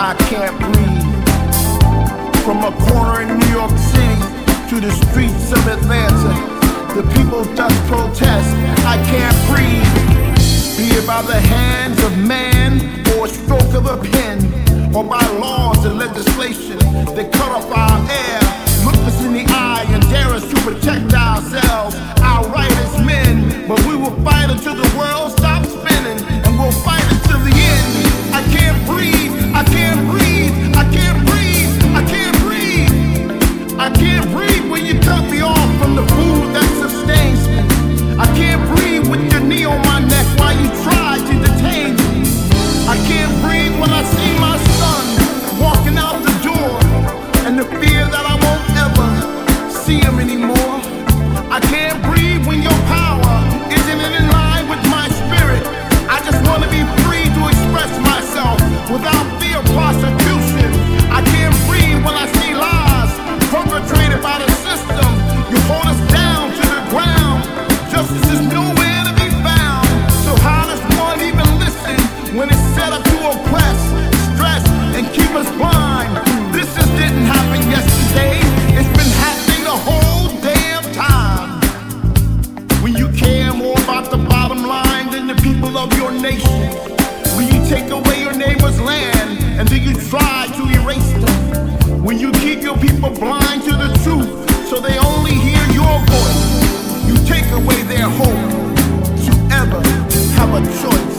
I can't breathe. From a corner in New York City to the streets of Atlanta, the people thus protest, I can't breathe. Be it by the hands of man or a stroke of a pen, or by laws and legislation that cut off our air, look us in the eye and dare us to protect ourselves, our right as men. But we will fight until the world stops spinning, and we'll fight until the end. I can't breathe, I can't breathe, I can't breathe, I can't breathe. I can't breathe when you cut me off from the food that sustains me. I can't breathe with your knee on my neck while you try to detain me. I can't breathe when I see my son walking out the door, and the fear that I won't ever see him anymore. I can't breathe when your power isn't in line with my spirit. I just want to be free to express myself without fear of prosecution. I can't breathe when I see lies perpetrated by the system. You hold us down to the ground. Justice is nowhere to be found. So how does one even listen when it's set up to oppress, stress, and keep us blind? This just didn't happen yesterday. It's been happening the whole damn time. When you care more about the bottom line than the people of your nation, when you take away your neighbor's land and then you try to erase them, when you keep your people blind to the truth so they only hear your voice, you take away their hope to ever have a choice.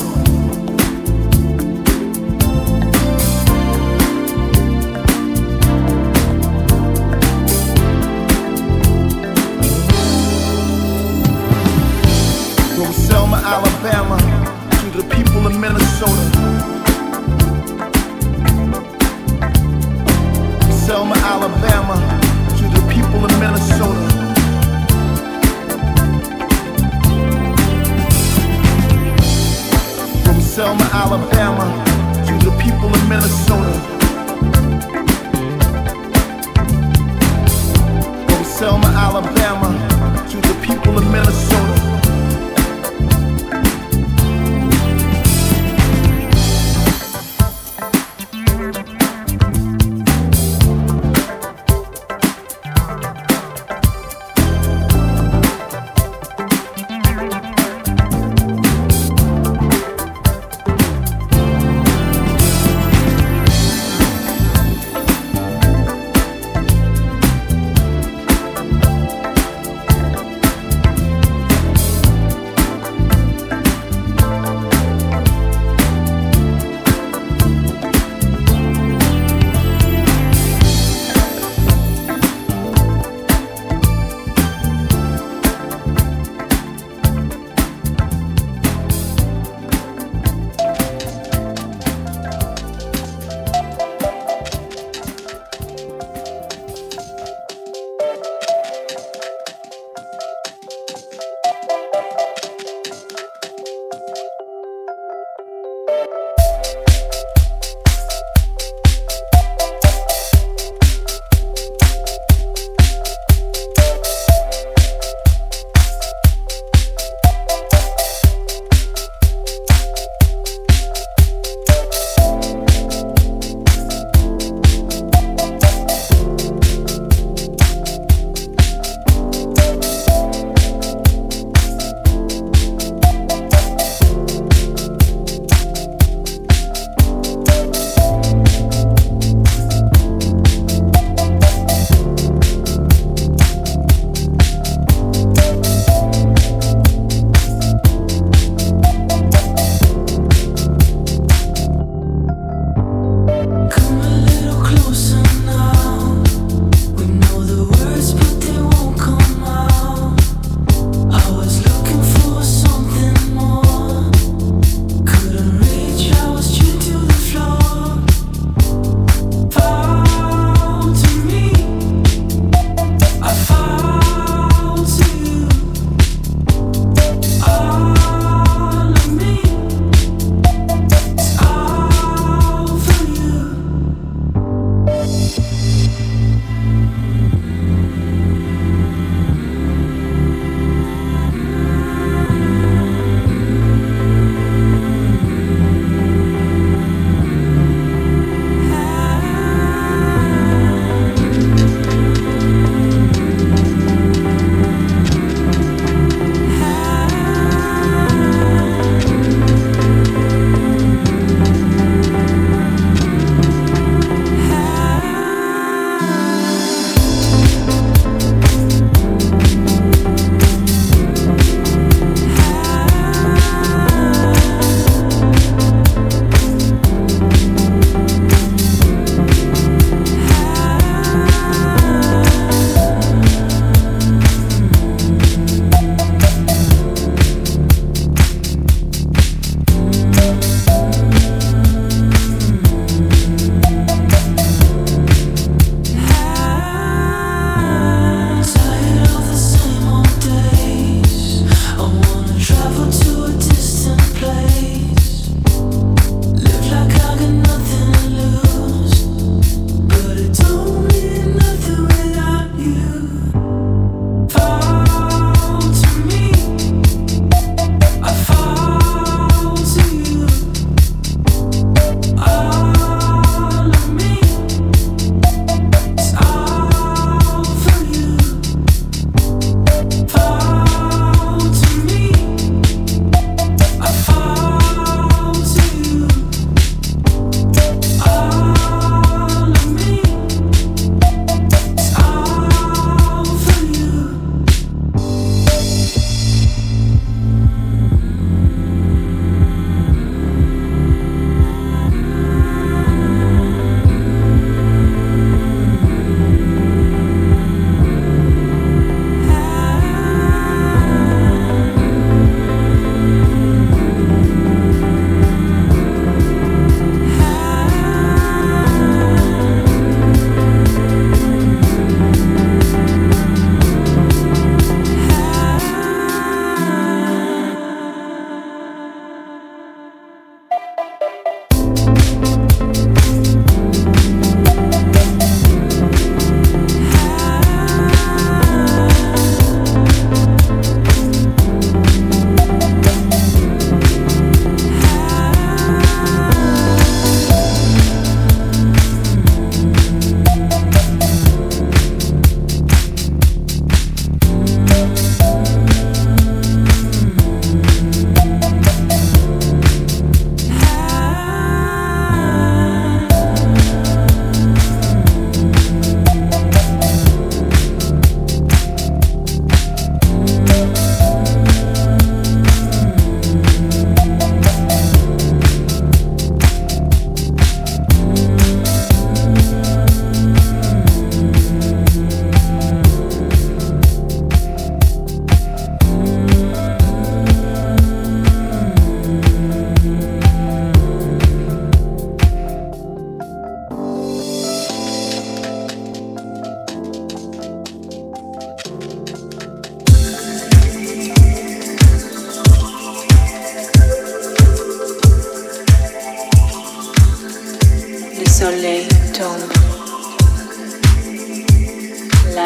From Selma, Alabama, to the people of Minnesota. Selma, Alabama, to the people of Minnesota. From Selma, Alabama, to the people of Minnesota. From Selma, Alabama, to the people of Minnesota.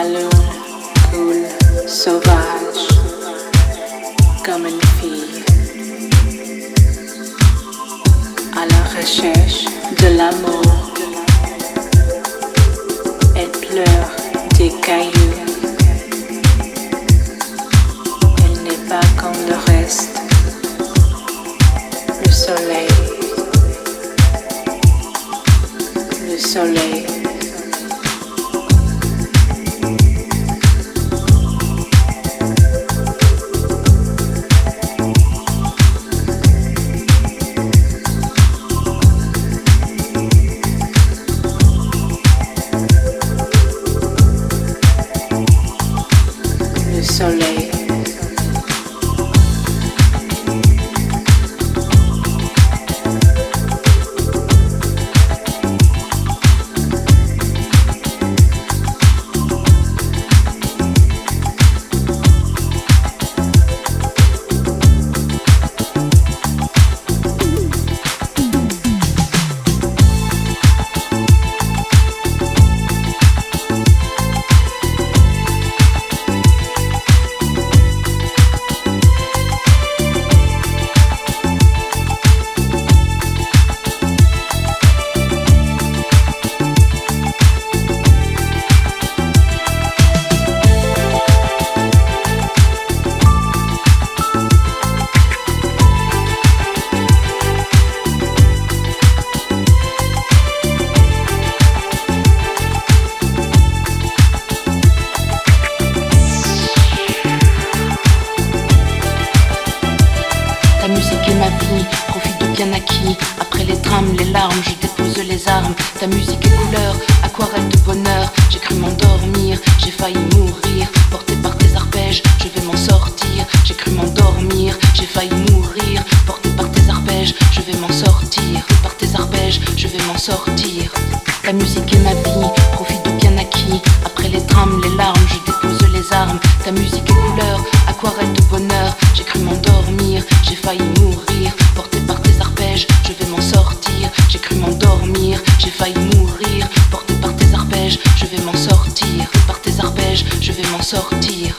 La lune coule sauvage comme une fille à la recherche de l'amour. Elle pleure des cailloux. Elle n'est pas comme le reste. Le soleil. Le soleil. Soleil. Ta musique est couleur, aquarelle de bonheur. J'ai cru m'endormir, j'ai failli mourir. Porté par tes arpèges, je vais m'en sortir. J'ai cru m'endormir, j'ai failli mourir. Porté par tes arpèges, je vais m'en sortir. Par tes arpèges, je vais m'en sortir. Ta musique est ma vie, profite du bien acquis. Après les drames, les larmes, je dépose les armes. Ta musique est couleur, aquarelle de bonheur. J'ai cru m'endormir, j'ai failli mourir. Porté par tes arpèges, je vais m'en sortir. J'ai cru m'endormir, j'ai failli mourir. Porté par tes arpèges, je vais m'en sortir. Par tes arpèges, je vais m'en sortir.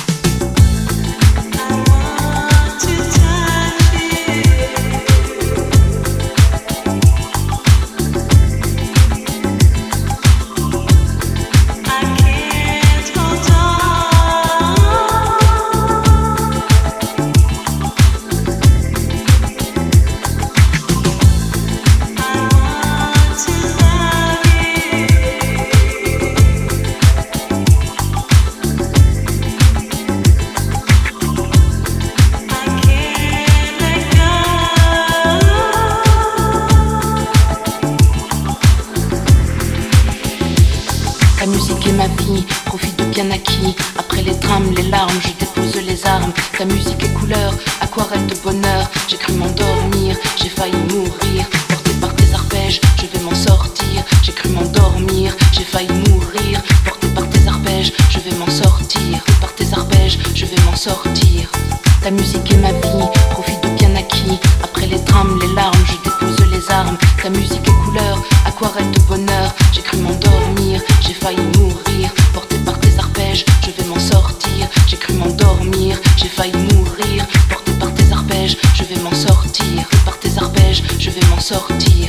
Bien acquis, après les drames, les larmes, je dépose les armes. Ta musique est couleur, aquarelle de bonheur. J'ai cru m'endormir, j'ai failli mourir. Porté par tes arpèges, je vais m'en sortir. J'ai cru m'endormir, j'ai failli mourir. Porté par tes arpèges, je vais m'en sortir. Par tes arpèges, je vais m'en sortir. Ta musique est ma vie, profite du bien acquis. Après les drames, les larmes, je dépose les armes. Ta musique est couleur, aquarelle de bonheur. J'ai cru m'endormir, j'ai failli mourir. Porté par tes arpèges, je vais m'en sortir. J'ai cru m'endormir, j'ai failli mourir. Porté par tes arpèges, je vais m'en sortir. Par tes arpèges, je vais m'en sortir.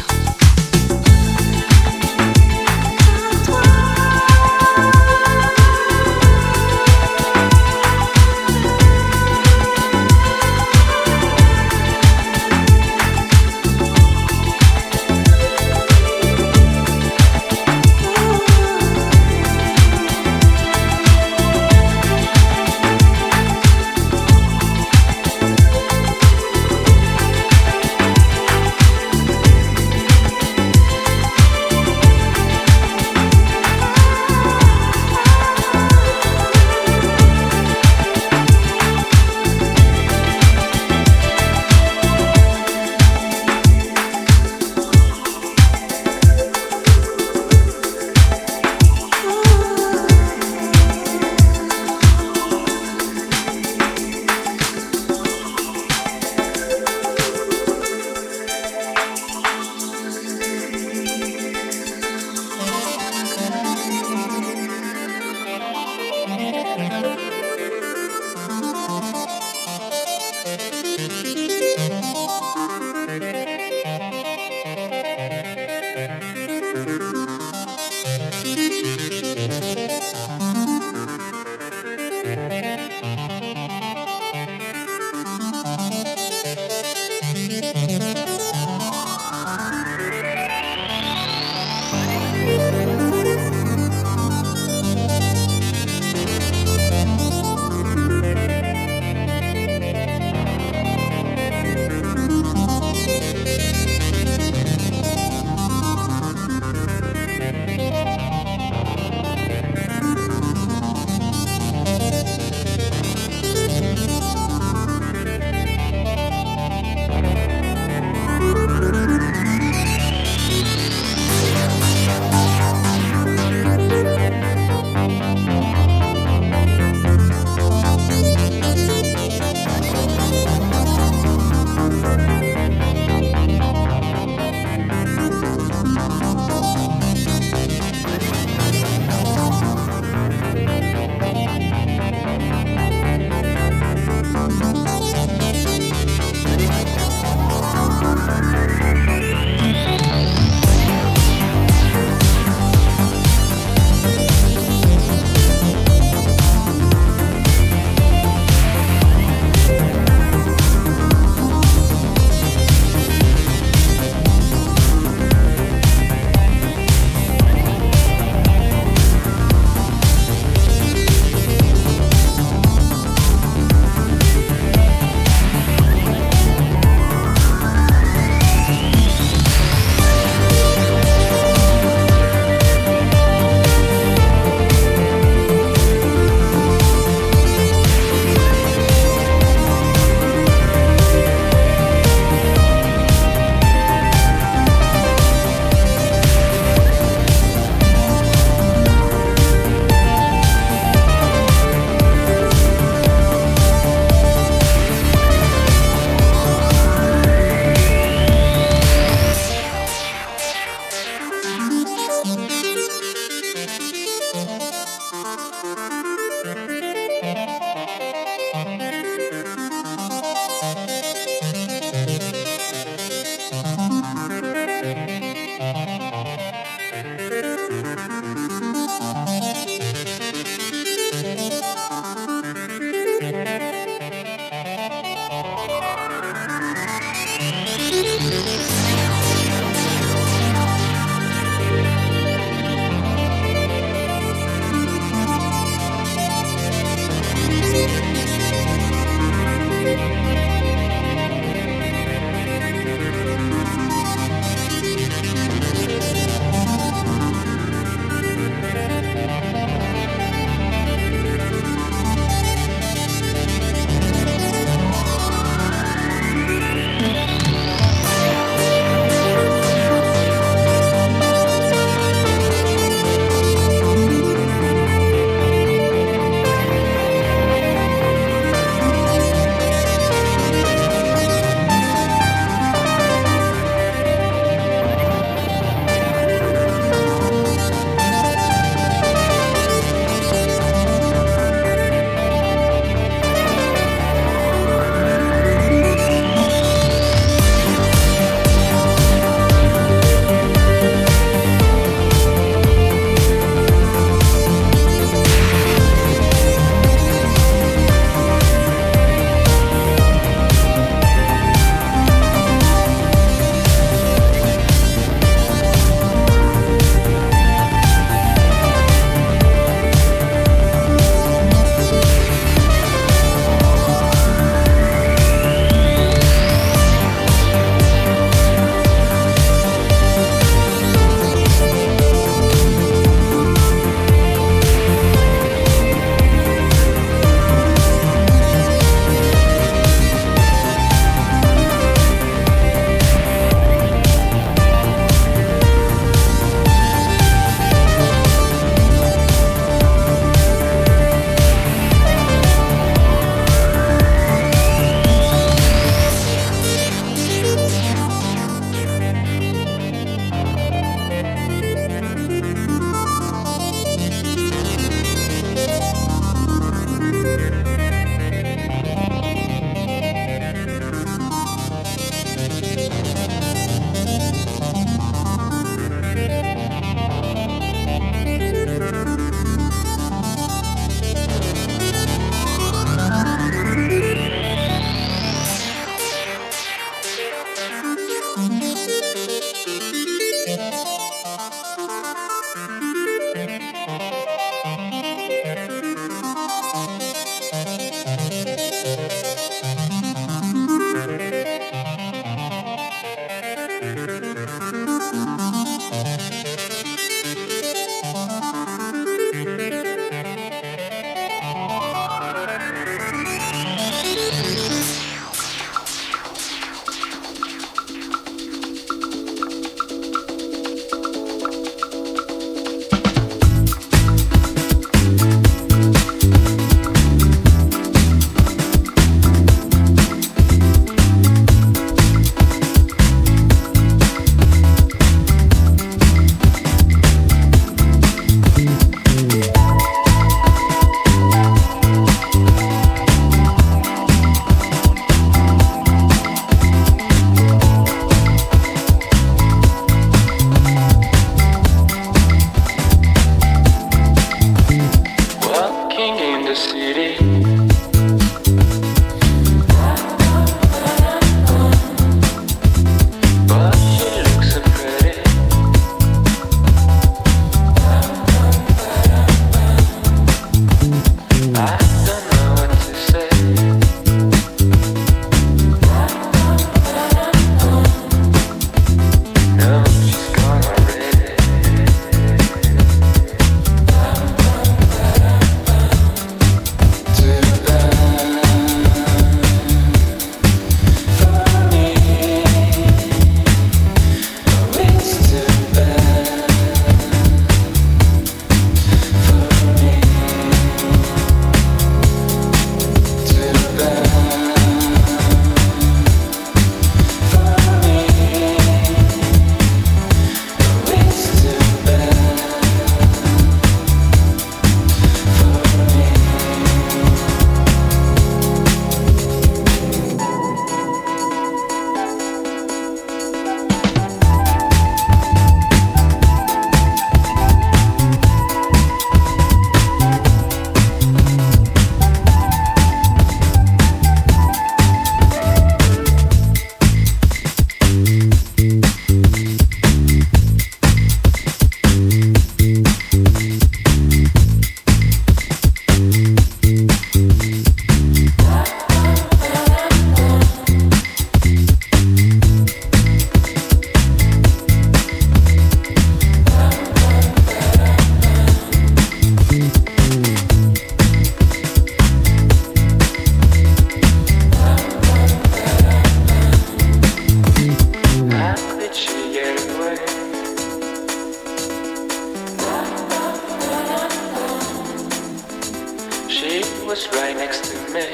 was right next to me.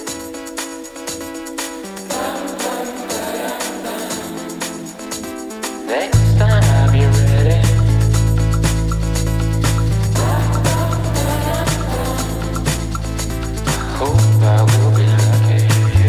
Next time I'll be ready. Hope I will be lucky.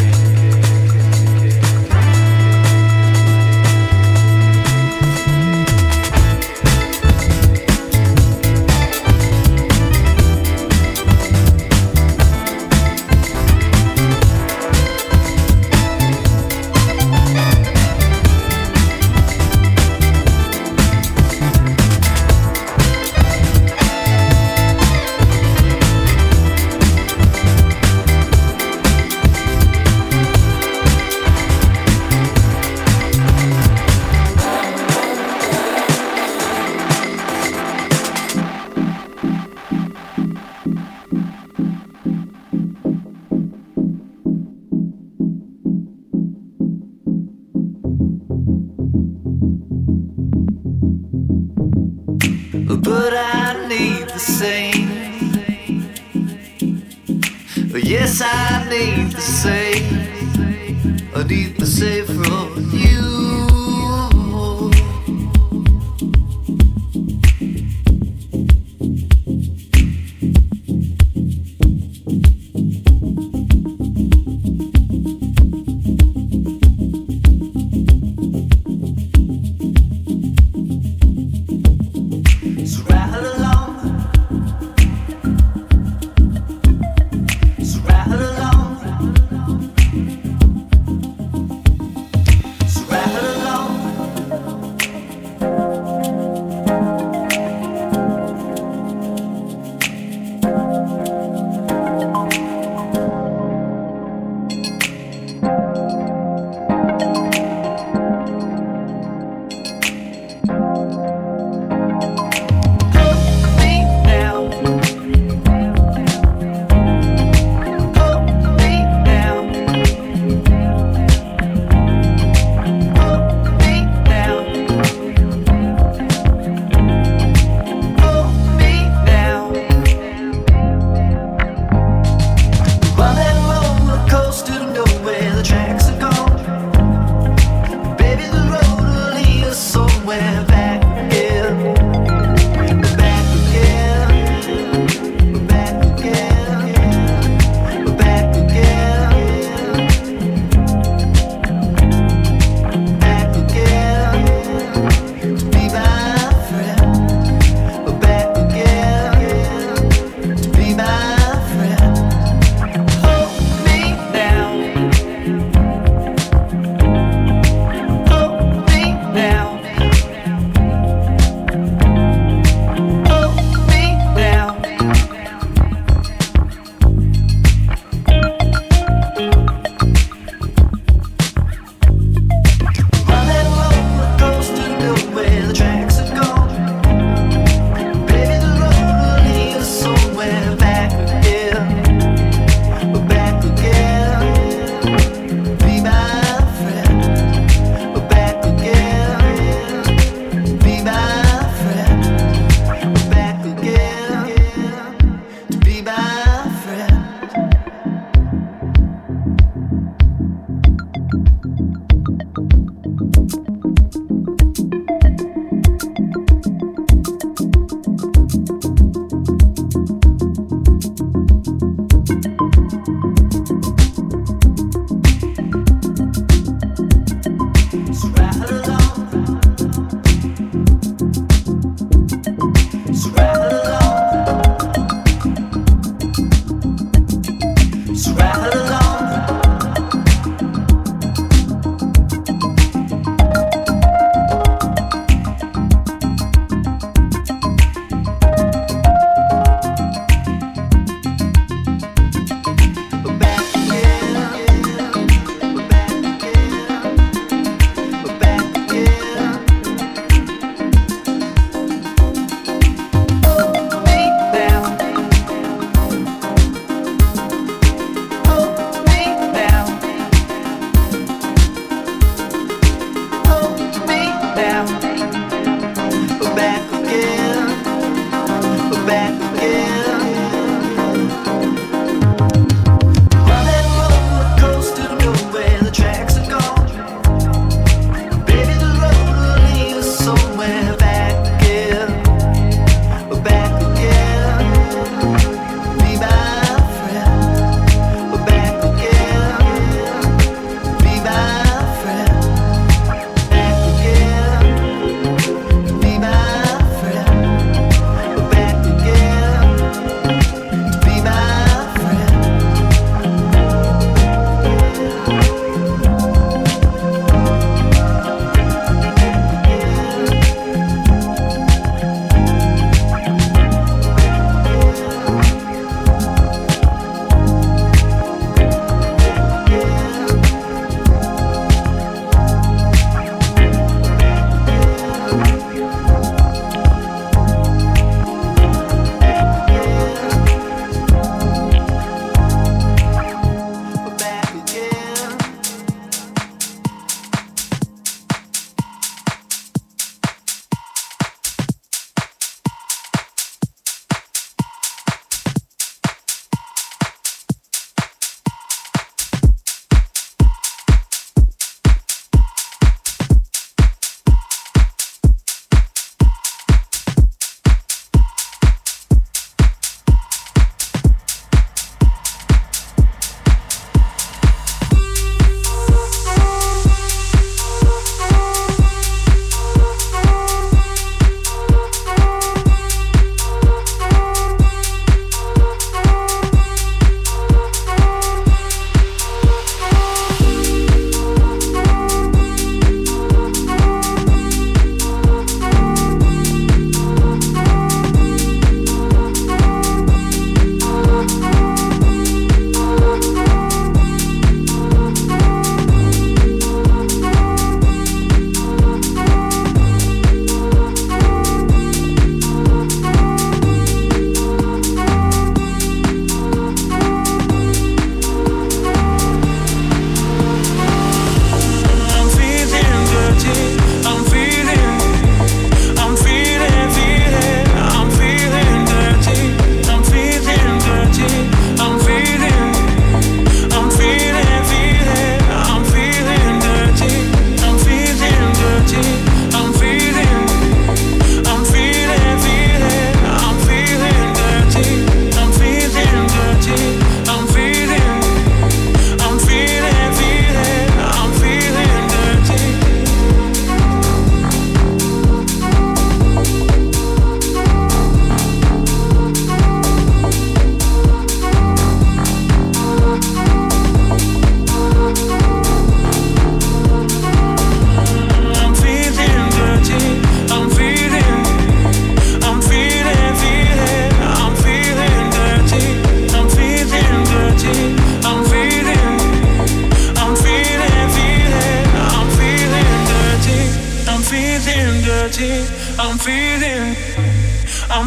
But I need the same. Yes, I need the same. I need the same from you.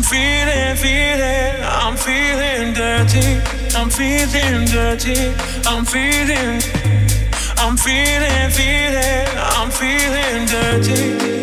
feeling dirty.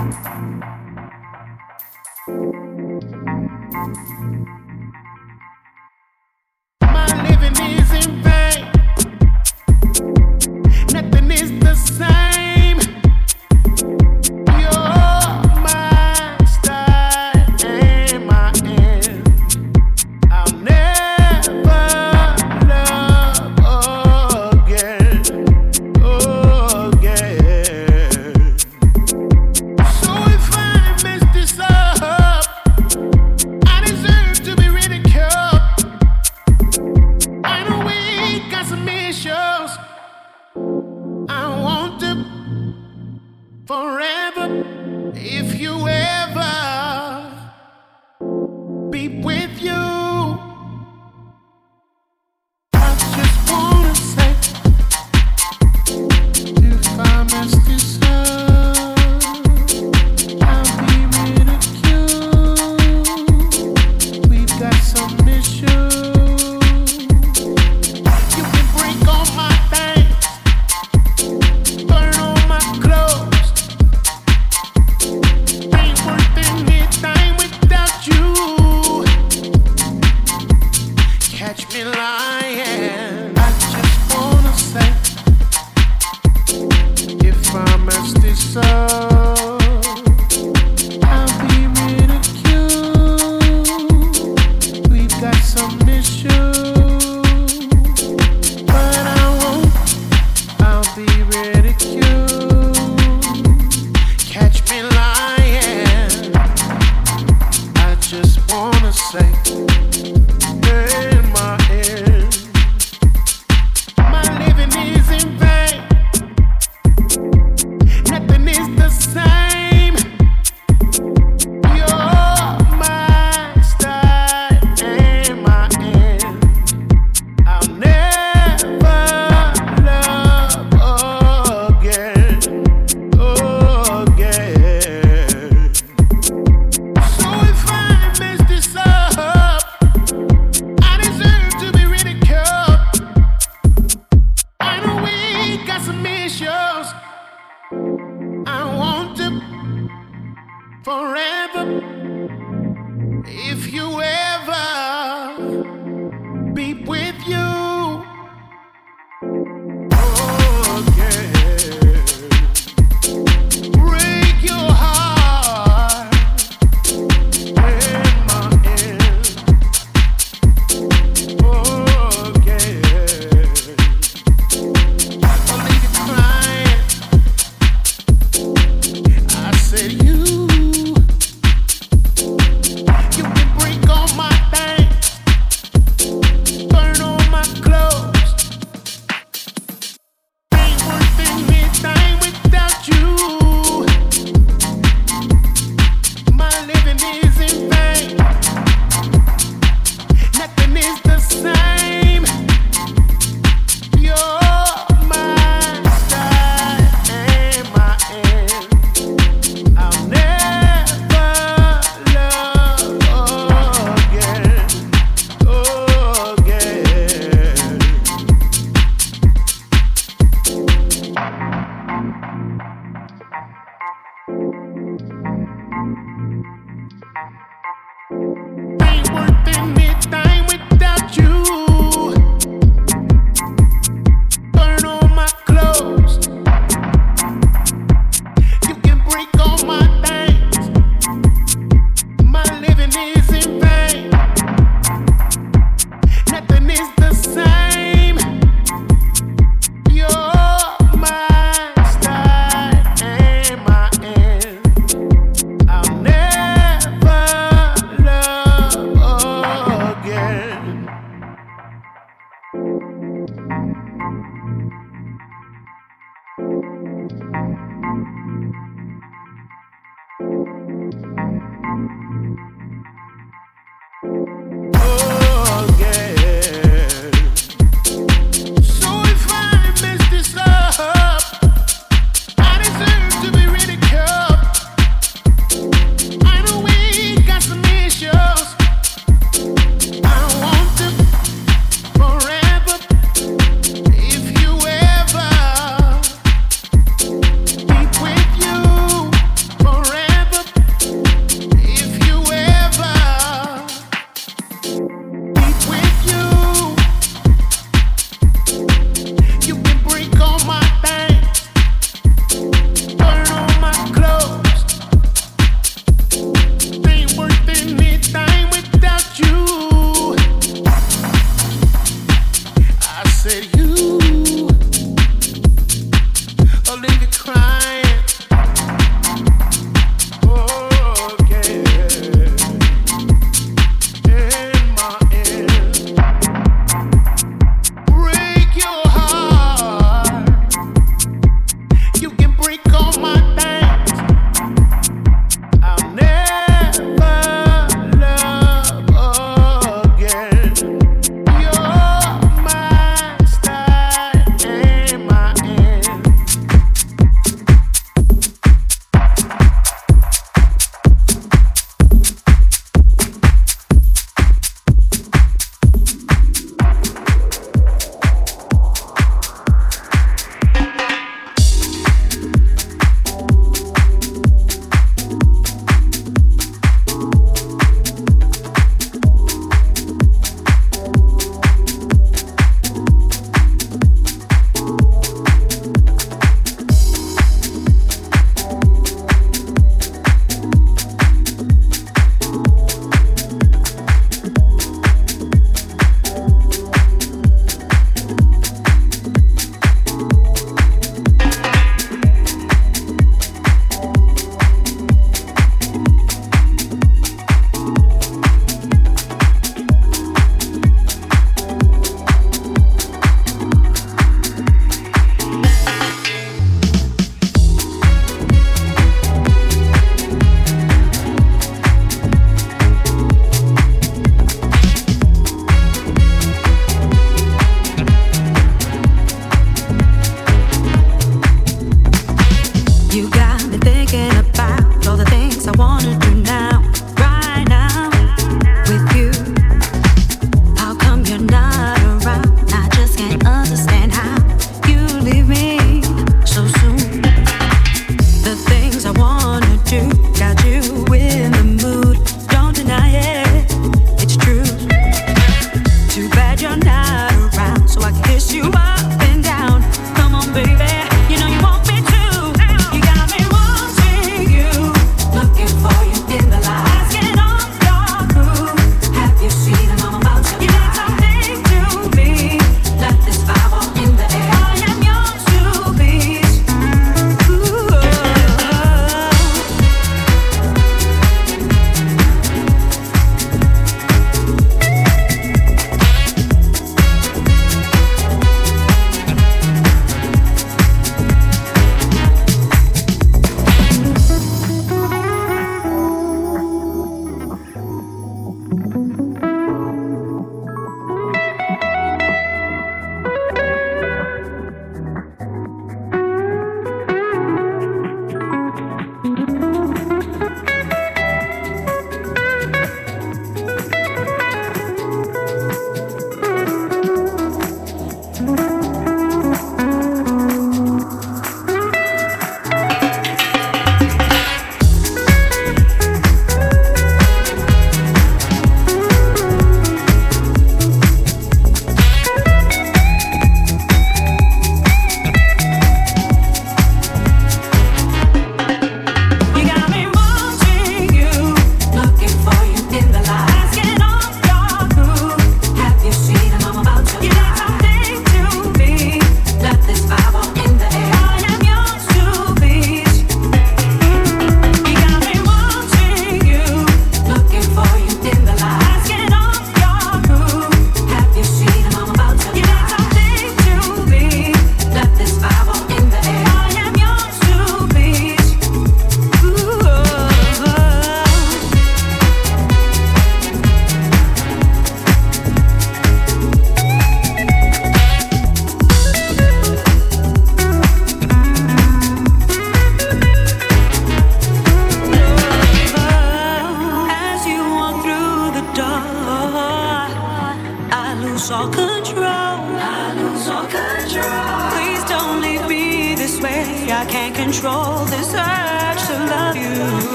Forever or leave you crying.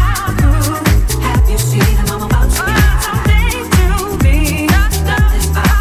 This vibe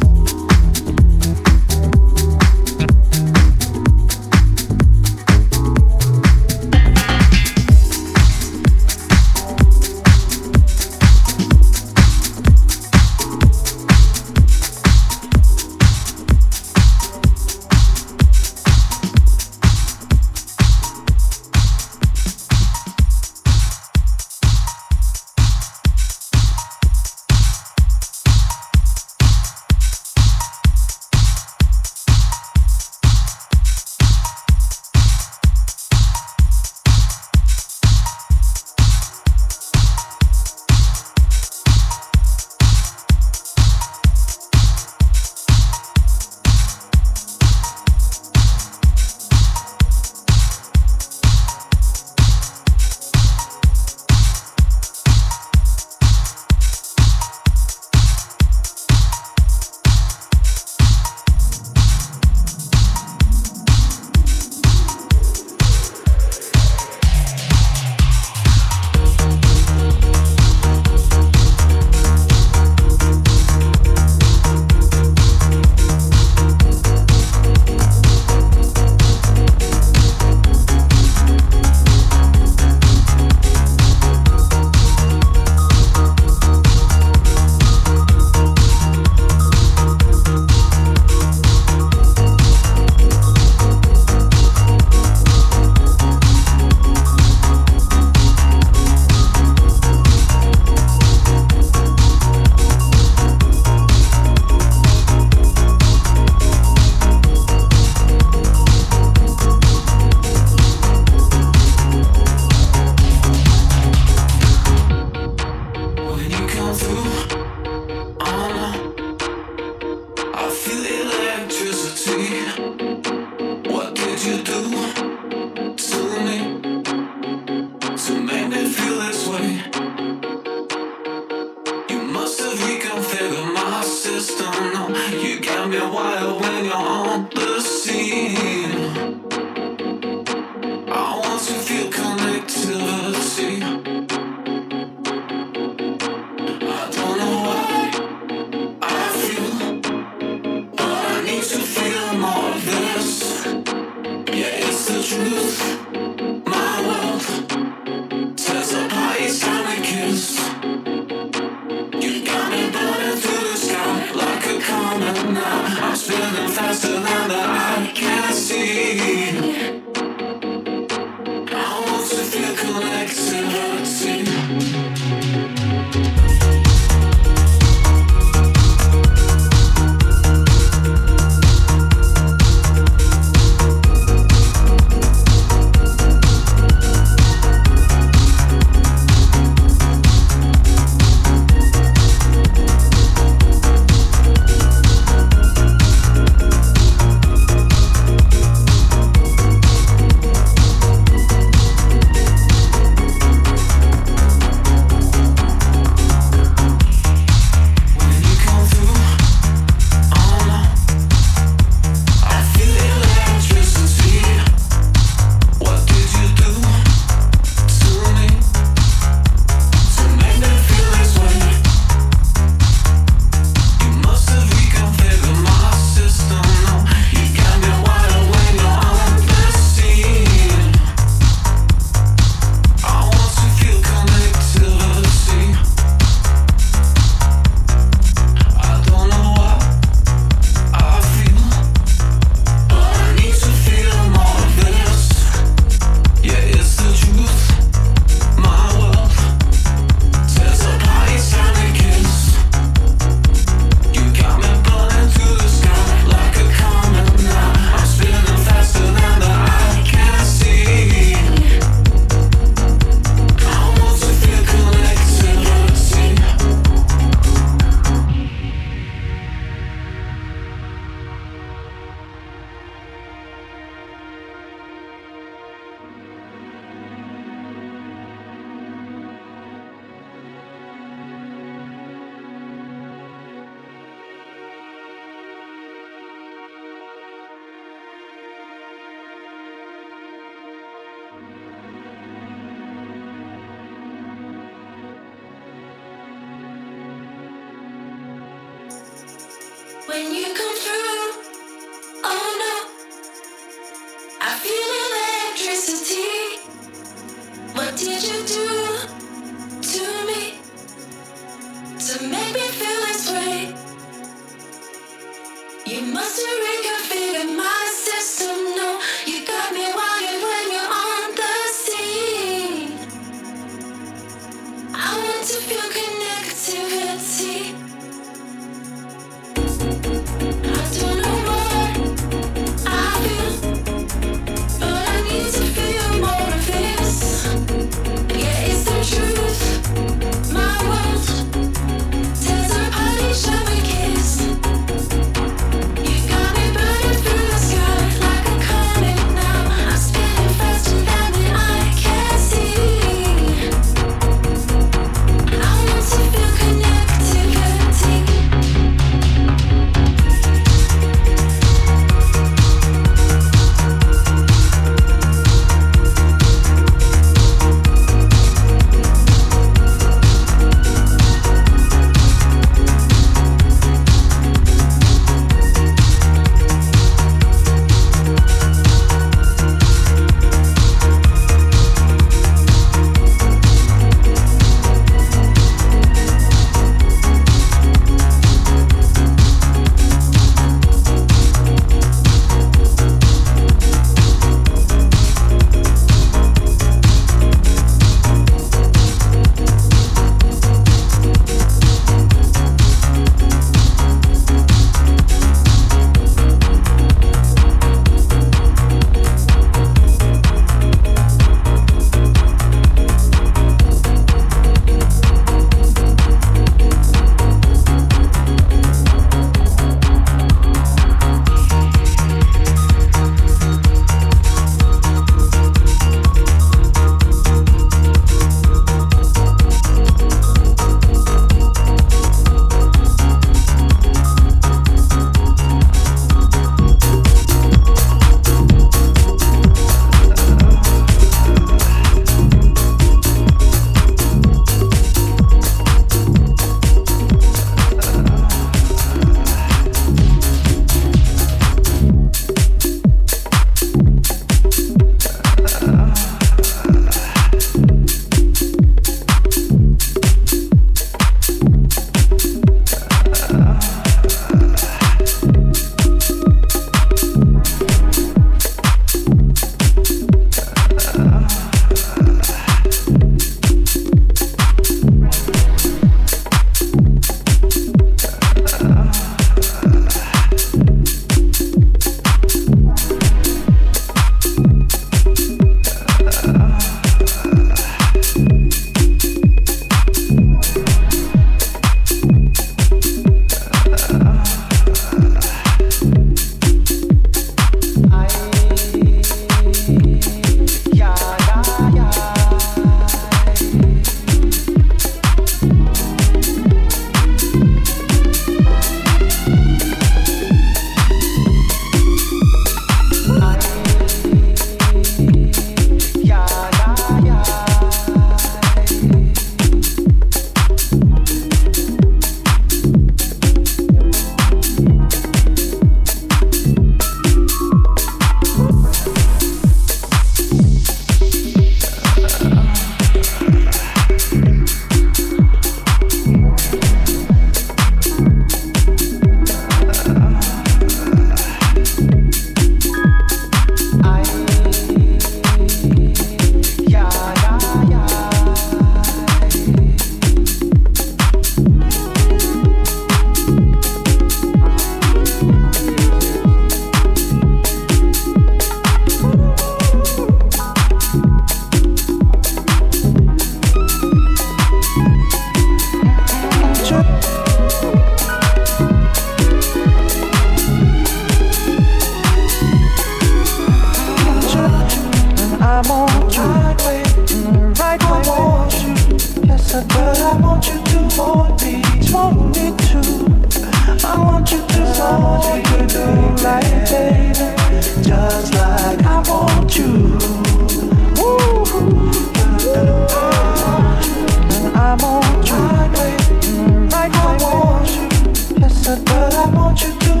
But I want you to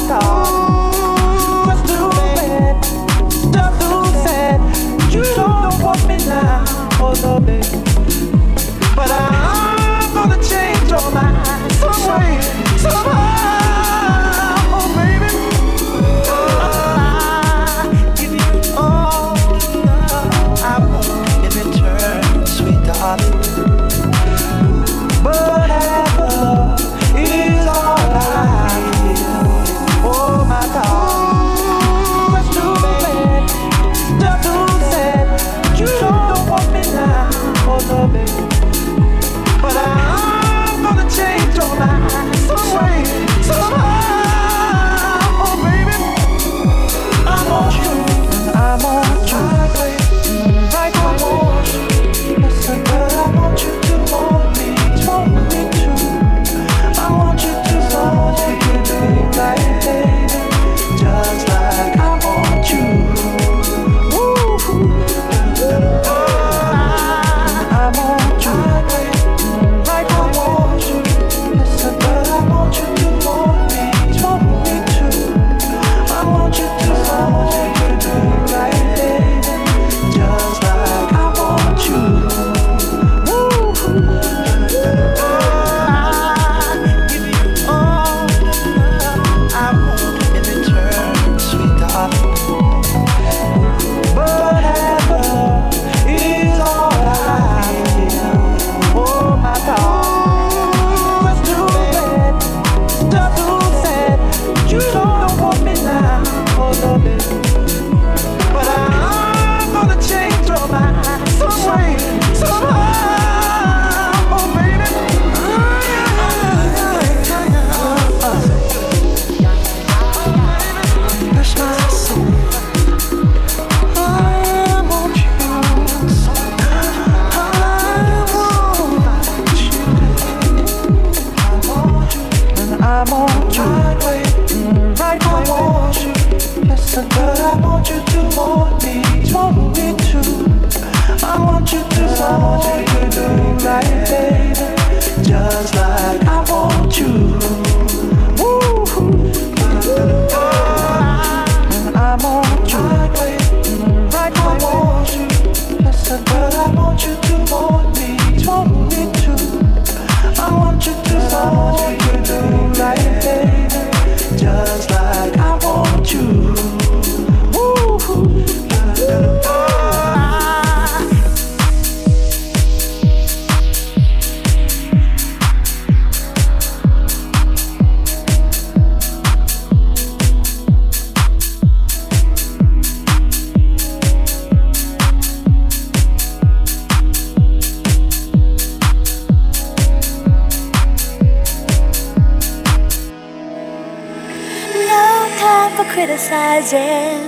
criticizing.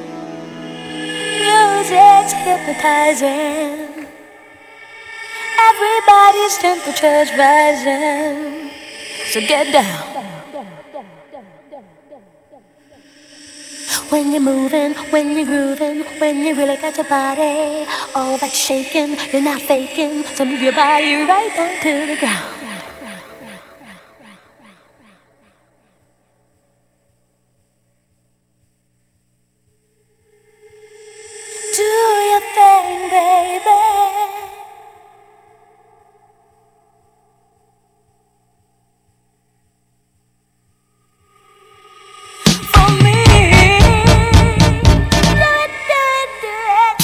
Music's hypnotizing. Everybody's temperature's rising. So get down. When you're moving, when you're grooving, when you really got your body all that shaking, you're not faking. So move your body right down to the ground. Do your thing, baby. For me, do it, do it, do it.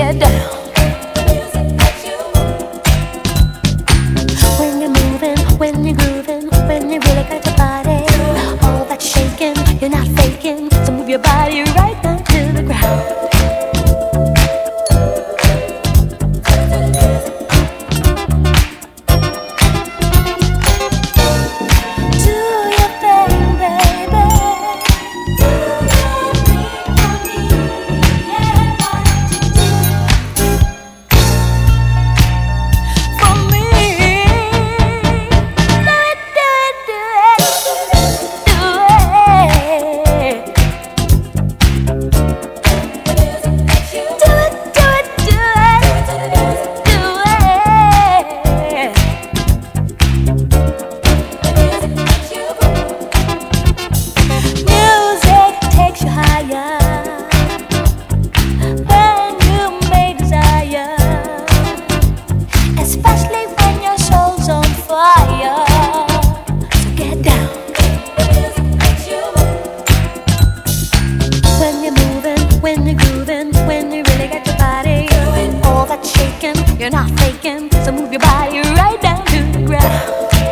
get down. When you're moving, when you're grooving, when you really got your body, all that shaking, you're not faking, so move your body right down to the ground. You're not faking, so move your body right down to the ground.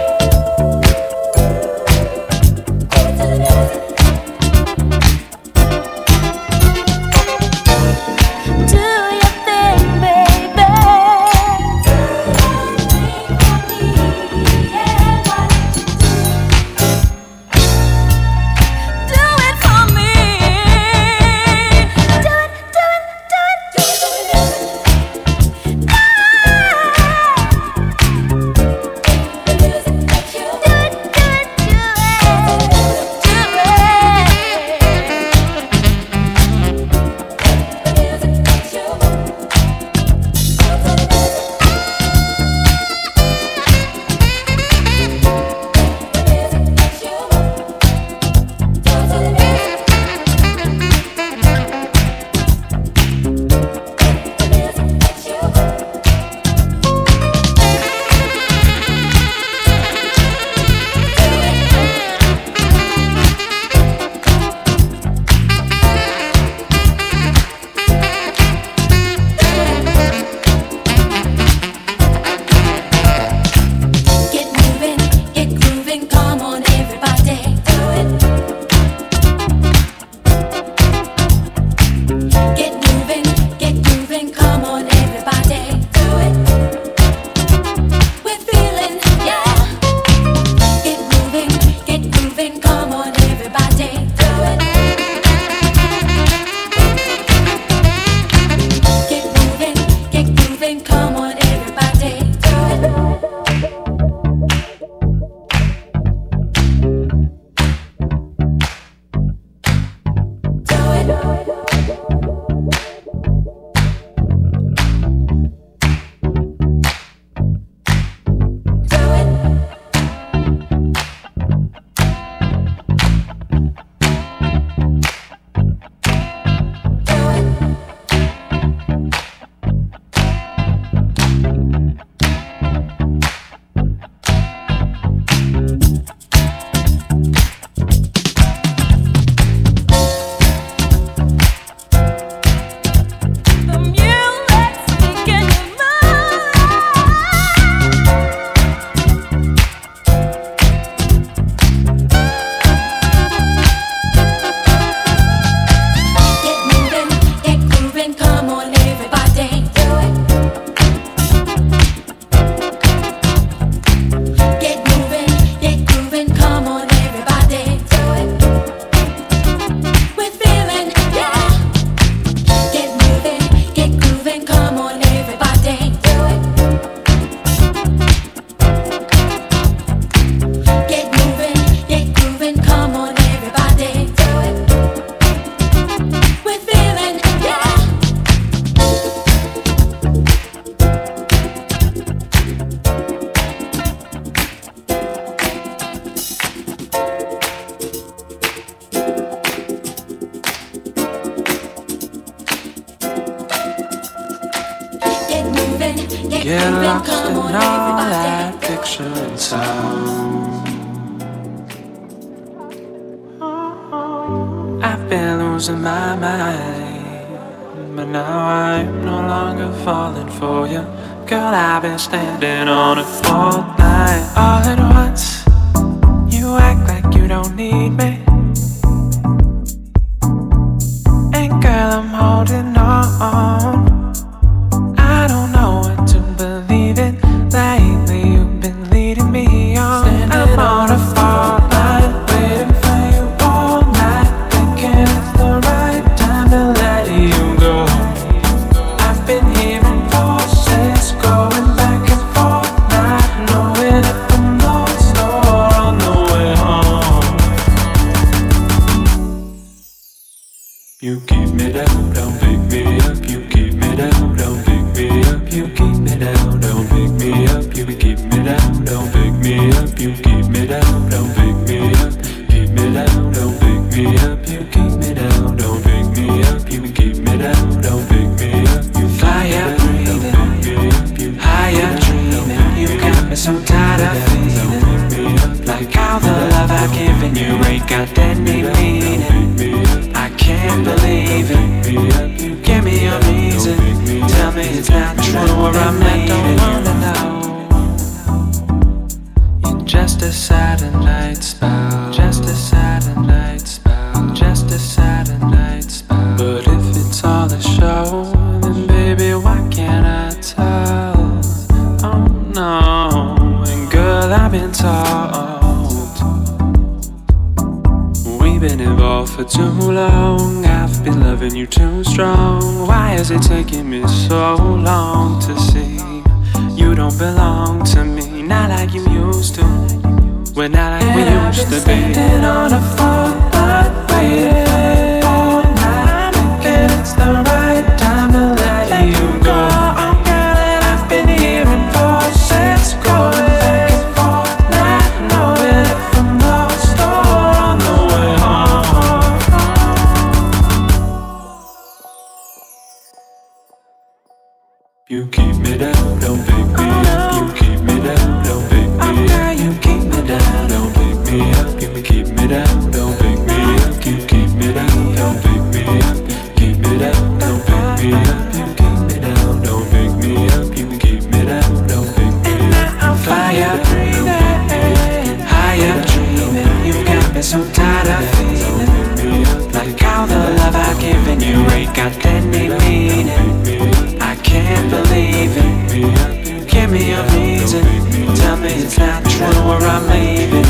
Get lost in all that picture and sound. I've been losing my mind. but now I'm no longer falling for you. Girl, I've been standing on it all night. All at once, you act like you don't need me. And girl, I'm holding on. I don't know what to believe in. Lately, you've been leading me on. I'm on a fall line, waiting for you all night, thinking it's the right time to let you go. I've been hearing voices going back and forth, not knowing if I'm lost or on the way home. You keep me down, don't pick me up. You keep me down, don't pick me up. You keep me down, don't pick me up. You keep me down, don't pick me up. You keep me down, don't pick me up. Keep me down, don't pick me up. You keep me down, don't pick me up. You keep me down, don't pick me up. You fly up breathing, higher dreaming. You got me so tired of feeling like all the love I've given you ain't got any meaning. I can't believe it. Give me a reason. Tell me it's not true or I'm not. Don't wanna know. You're just a Saturday spell. Just a Saturday spell. Just a Saturday spell. But if it's all a show, then baby, why can't I tell? Oh no. And girl, I've been told we've been involved for too long. I've been loving you too strong. Why is it taking me so long to see you don't belong to me? Not like you used to. We're not like we used to be. Standing on a phone line, waiting all night, thinking it's the right time to let you go. Girl, and I've been hearing voices going back and forth, not knowing if I'm lost or on the way home. You keep me down, don't pick me up. You keep me down, don't pick me up. You keep me down, don't pick me up. You keep me down, don't pick me up. You keep me down, don't pick me up. Keep me down, don't pick me up. You keep me down, don't pick me up. You keep me down, don't pick me up. I'm fire breathing, higher dreaming. You got me so tired of feeling like all the love I've given you ain't got any meaning. I can't believe it. Give me a reason. Tell me it's not true or I'm leaving.